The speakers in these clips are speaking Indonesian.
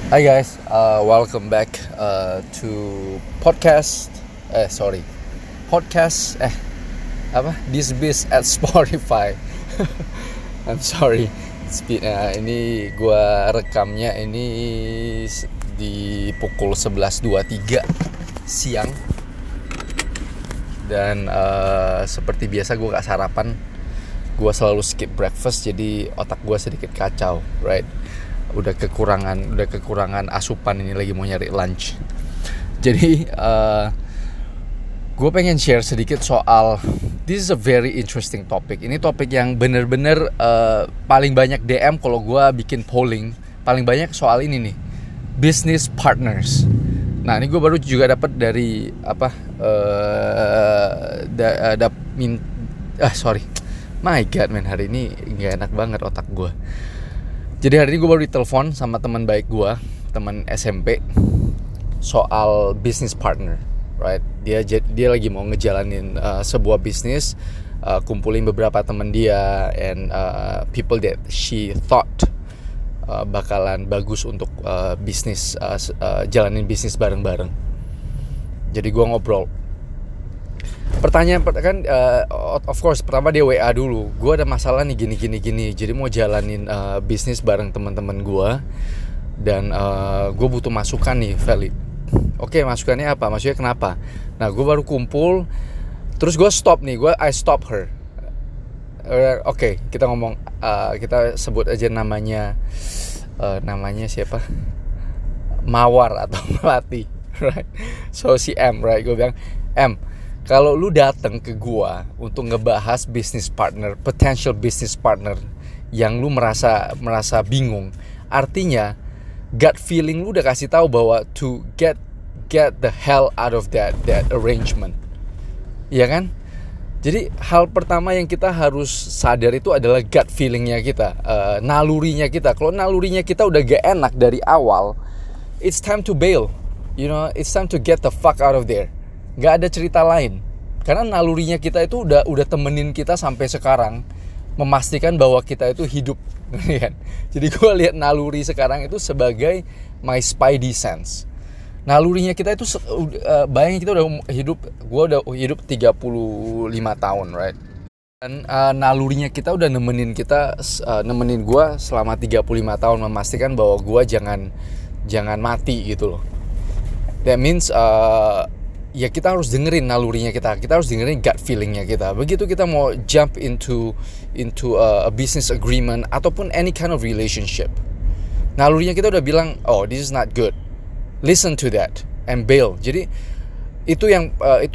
Hi guys, welcome back to podcast. Sorry, podcast. This Biz at Spotify. I'm sorry. Ini gua rekamnya ini di pukul 11.23 siang dan seperti biasa gue gak sarapan. Gue selalu skip breakfast, jadi otak gue sedikit kacau, right? Udah kekurangan asupan, ini lagi mau nyari lunch. Jadi gue pengen share sedikit soal this is a very interesting topic. Ini topik yang bener-bener paling banyak DM kalau gue bikin polling, paling banyak soal ini nih, business partners. Nah ini gue baru juga dapat dari my god man, hari ini nggak enak banget otak gue. Jadi hari ini gue baru ditelepon sama teman baik gue, teman SMP, soal business partner, right? Dia lagi mau ngejalanin sebuah bisnis, kumpulin beberapa teman dia and people that she thought bakalan bagus untuk bisnis, jalanin bisnis bareng-bareng. Jadi gue ngobrol. Pertanyaan kan, of course pertama dia WA dulu, gue ada masalah nih gini, jadi mau jalanin bisnis bareng teman-teman gue dan gue butuh masukan nih, Feli. Oke, masukannya apa? Maksudnya kenapa? Nah gue baru kumpul, terus gue I stop her. Oke, kita ngomong, kita sebut aja namanya siapa? Mawar atau Melati, right? So si M, right? Gue bilang, M, kalau lu datang ke gua untuk ngebahas potential business partner yang lu merasa bingung, artinya gut feeling lu udah kasih tahu bahwa to get the hell out of that arrangement. Iya kan? Jadi hal pertama yang kita harus sadar itu adalah gut feelingnya kita, nalurinya kita. Kalau nalurinya kita udah gak enak dari awal, it's time to bail. You know, it's time to get the fuck out of there. Gak ada cerita lain. Karena nalurinya kita itu udah temenin kita sampai sekarang, memastikan bahwa kita itu hidup. Jadi gue lihat naluri sekarang itu sebagai my spidey sense. Nalurinya kita itu bayangin kita udah hidup, gue udah hidup 35 tahun, right? Dan nalurinya kita udah nemenin gue selama 35 tahun, memastikan bahwa gue jangan mati gitu loh. That means ya kita harus dengerin nalurinya kita harus dengerin gut feelingnya kita. Begitu kita mau jump into a business agreement ataupun any kind of relationship, nalurinya kita udah bilang, oh this is not good, listen to that and bail. Jadi itu yang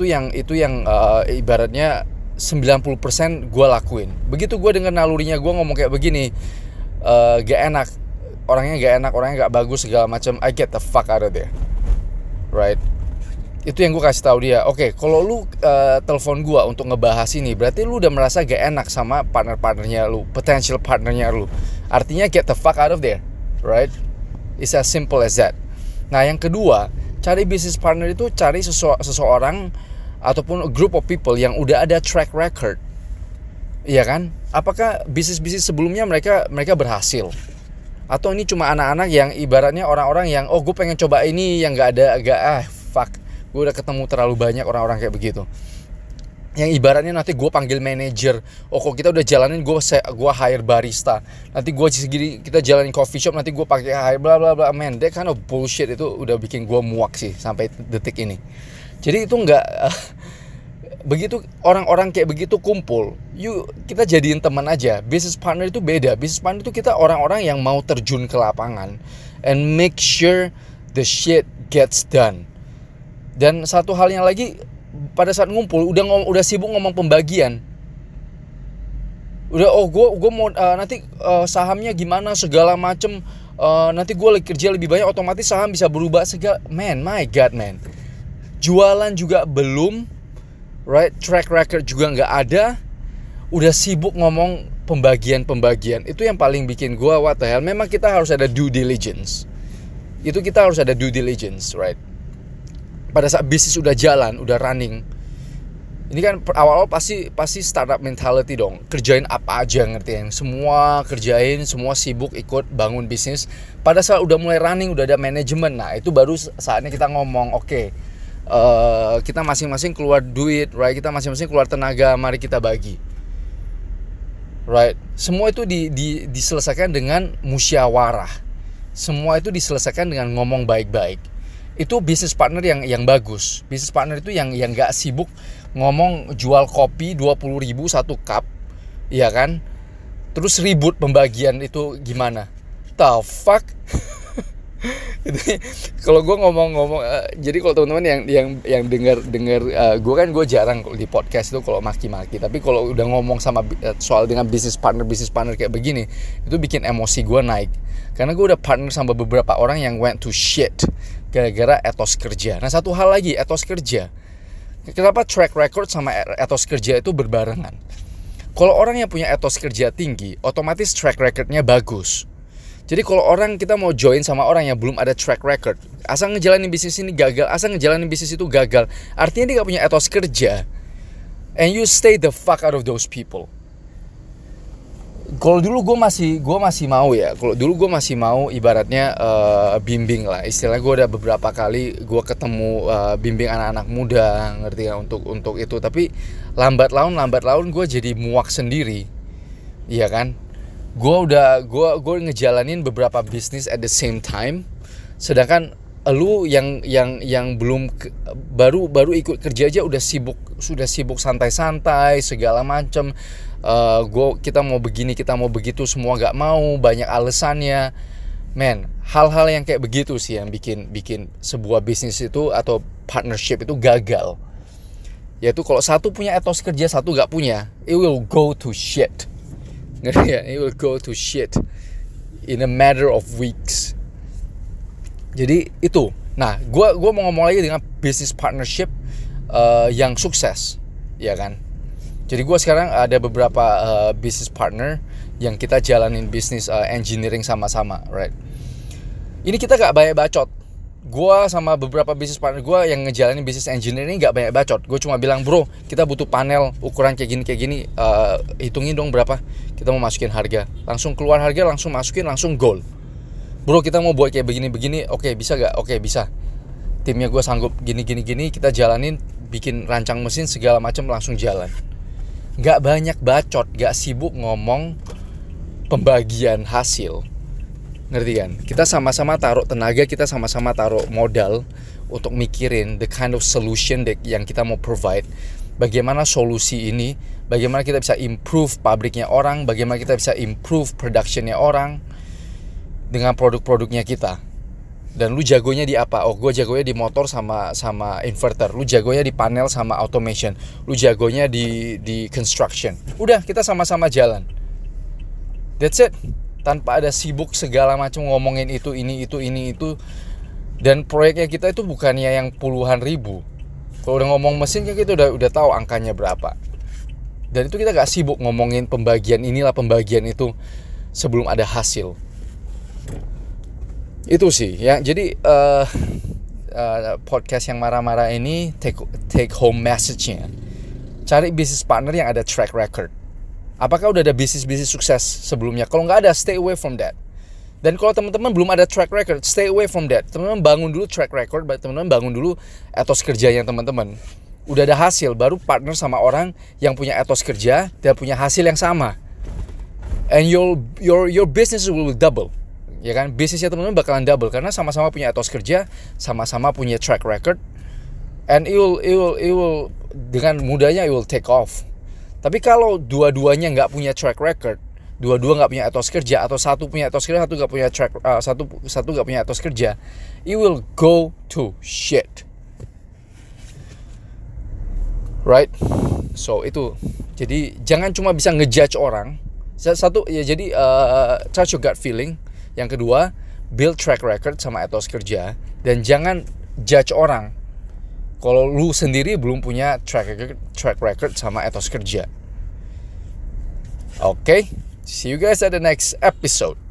ibaratnya 90% gue lakuin. Begitu gue denger nalurinya gue ngomong kayak begini, gak enak, orangnya gak bagus segala macam, I get the fuck out of there, right? Itu yang gue kasih tahu dia. Oke, kalau lu telepon gue untuk ngebahas ini, berarti lu udah merasa gak enak sama partnernya lu, potential partnernya lu. Artinya get the fuck out of there, right? It's as simple as that. Nah yang kedua, cari business partner itu cari seseorang ataupun a group of people yang udah ada track record. Iya kan? Apakah bisnis sebelumnya mereka berhasil? Atau ini cuma anak-anak yang ibaratnya orang-orang yang gue pengen coba ini yang fuck, gue udah ketemu terlalu banyak orang-orang kayak begitu, yang ibaratnya nanti gue panggil manajer, kalau kita udah jalanin gue hire barista, nanti kita jalanin coffee shop, nanti gue pakai hire bla bla bla. Man, that kind of bullshit itu udah bikin gue muak sih sampai detik ini. Jadi itu nggak begitu orang-orang kayak begitu kumpul, kita jadiin teman aja. Business partner itu beda. Business partner itu kita orang-orang yang mau terjun ke lapangan and make sure the shit gets done. Dan satu halnya lagi, pada saat ngumpul udah sibuk ngomong pembagian. Udah gue mau nanti sahamnya gimana segala macem, nanti gue kerja lebih banyak, otomatis saham bisa berubah segala. Man, my god man. Jualan juga belum, right? Track record juga nggak ada. Udah sibuk ngomong pembagian. Itu yang paling bikin gue what the hell. Memang kita harus ada due diligence. Right? Pada saat bisnis udah jalan, udah running, Ini kan awal-awal pasti startup mentality dong. Kerjain apa aja, ngerti yang semua kerjain, semua sibuk ikut bangun bisnis. Pada saat udah mulai running, udah ada manajemen, nah itu baru saatnya kita ngomong, oke, kita masing-masing keluar duit, right? Kita masing-masing keluar tenaga, mari kita bagi. Right? Semua itu diselesaikan dengan musyawarah. Semua itu diselesaikan dengan ngomong baik-baik. Itu business partner yang bagus. Business partner itu yang gak sibuk ngomong jual kopi 20.000 satu cup, ya kan? Terus ribut pembagian itu gimana? The fuck? Kalau gue ngomong jadi kalau teman-teman yang dengar gue jarang di podcast itu kalau maki-maki, tapi kalau udah ngomong sama soal dengan business partner kayak begini, itu bikin emosi gue naik, karena gue udah partner sama beberapa orang yang went to shit gara-gara etos kerja. Nah, satu hal lagi, etos kerja, kenapa track record sama etos kerja itu berbarengan? Kalau orang yang punya etos kerja tinggi, otomatis track recordnya bagus. Jadi kalau kita mau join sama orang yang belum ada track record, asal ngejalanin bisnis ini gagal, asal ngejalanin bisnis itu gagal, artinya dia gak punya etos kerja. And you stay the fuck out of those people. Kalau dulu gue masih mau ya. Kalau dulu gue masih mau ibaratnya bimbing lah. Istilahnya gue udah beberapa kali gue ketemu bimbing anak-anak muda, ngerti ya, untuk itu. Tapi lambat laun gue jadi muak sendiri, iya kan? Gue ngejalanin beberapa bisnis at the same time, sedangkan lu yang belum baru ikut kerja aja sudah sibuk santai-santai segala macem. Kita mau begini, kita mau begitu, semua gak mau, banyak alasannya. Man, hal-hal yang kayak begitu sih yang bikin sebuah bisnis itu atau partnership itu gagal. Yaitu kalau satu punya etos kerja, satu gak punya, it will go to shit. Ngerti ya? It will go to shit in a matter of weeks. Jadi itu. Nah, gue mau ngomong lagi dengan business partnership yang sukses, ya kan? Jadi gue sekarang ada beberapa business partner yang kita jalanin bisnis engineering sama-sama, right? Ini kita gak banyak bacot. Gue sama beberapa business partner gue yang ngejalanin bisnis engineering gak banyak bacot. Gue cuma bilang, bro, kita butuh panel ukuran kayak gini, hitungin dong berapa. Kita mau masukin harga, langsung keluar harga, langsung masukin, langsung goal. Bro, kita mau buat kayak begini, oke, bisa gak? Oke, bisa. Timnya gue sanggup gini, kita jalanin, bikin rancang mesin segala macam, langsung jalan. Gak banyak bacot, gak sibuk ngomong pembagian hasil. Ngerti kan? Kita sama-sama taruh tenaga, kita sama-sama taruh modal untuk mikirin the kind of solution yang kita mau provide. Bagaimana solusi ini, bagaimana kita bisa improve pabriknya orang, bagaimana kita bisa improve productionnya orang dengan produk-produknya kita. Dan lu jagonya di apa? Oh, gue jagonya di motor sama inverter. Lu jagonya di panel sama automation. Lu jagonya di construction. Udah, kita sama-sama jalan. That's it. Tanpa ada sibuk segala macam ngomongin itu, ini itu. Dan proyeknya kita itu bukannya yang puluhan ribu. Kalau udah ngomong mesin kan kita udah tahu angkanya berapa. Dan itu kita gak sibuk ngomongin pembagian inilah, pembagian itu sebelum ada hasil. Itu sih ya. Jadi podcast yang marah-marah ini take home message-nya, cari business partner yang ada track record. Apakah udah ada bisnis sukses sebelumnya? Kalau nggak ada, stay away from that. Dan kalau teman-teman belum ada track record, stay away from that. Teman-teman bangun dulu track record, teman-teman bangun dulu etos kerjanya teman-teman. Udah ada hasil, baru partner sama orang yang punya etos kerja dan punya hasil yang sama. And your business will double. Ya kan, bisnisnya teman-teman bakalan double karena sama-sama punya etos kerja, sama-sama punya track record, and it will dengan mudahnya it will take off. Tapi kalau dua-duanya nggak punya track record, dua-dua nggak punya etos kerja, atau satu punya etos kerja, satu nggak punya satu nggak punya etos kerja, it will go to shit, right? So itu, jadi jangan cuma bisa ngejudge orang. Satu ya, jadi trust your gut feeling. Yang kedua, build track record sama etos kerja, dan jangan judge orang kalau lu sendiri belum punya track record sama etos kerja. Okay, see you guys at the next episode.